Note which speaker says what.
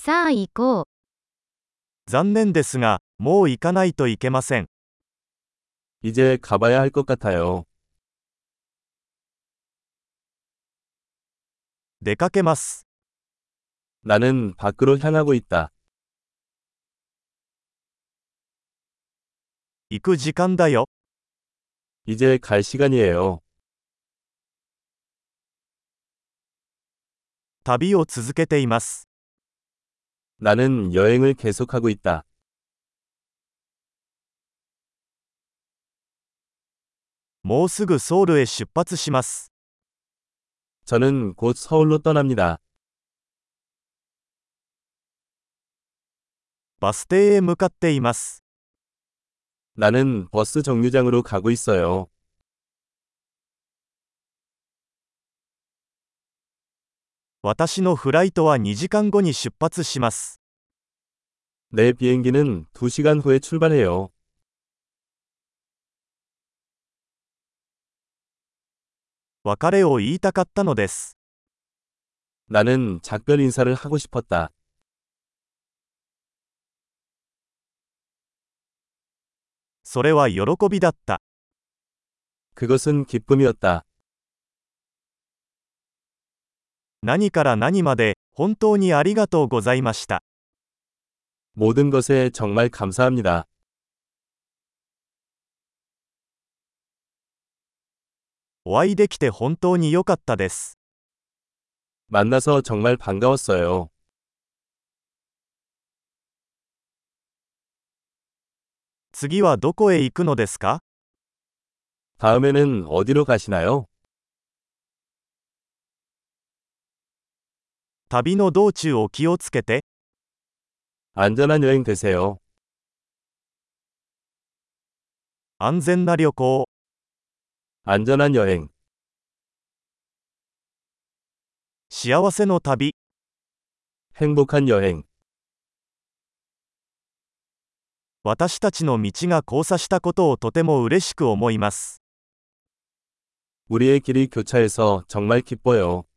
Speaker 1: さあ行こう。
Speaker 2: 残念ですが、もう行かないといけません。
Speaker 3: 이제 가봐야 할 것 같아요.
Speaker 2: 出かけます。
Speaker 3: 나는 밖으로 향하고 있다.
Speaker 2: 行く時間だよ。
Speaker 3: 이제 갈 시간이에요.
Speaker 2: 旅を続けています。
Speaker 3: 나는 여행을 계속하고 있다.
Speaker 2: もうすぐソウルへ出発します。
Speaker 3: 저는 곧 서울로 떠납니다.
Speaker 2: バス停へ向かっています。
Speaker 3: 나는 버스 정류장으로 가고 있어요.
Speaker 2: 私のフライトは2時間後に出発します。
Speaker 3: 내 비행기는 2시간 후에 출발해요.
Speaker 2: 別れを言いたかったのです。
Speaker 3: 나는 작별 인사를 하고 싶었다.
Speaker 2: それは喜びだった。
Speaker 3: 그것은 기쁨이었다.
Speaker 2: 何から何まで、本当にありがとうございました。
Speaker 3: 모든 것에 정말 감사합니다.
Speaker 2: お会いできて本当に良かったです。
Speaker 3: 만나서 정말 반가웠어요.
Speaker 2: 次はどこへ行くのですか？
Speaker 3: 다음에는 어디로 가시나요?
Speaker 2: 旅の道中を気をつけて。
Speaker 3: 안전한 여행 되세요.
Speaker 2: 安全な旅行。
Speaker 3: 안전한 여행.
Speaker 2: 幸せの旅。
Speaker 3: 행복한 여행.
Speaker 2: 私たちの道が交差したことをとても嬉しく思います。
Speaker 3: 우리의 길이 교차해서 정말 기뻐요.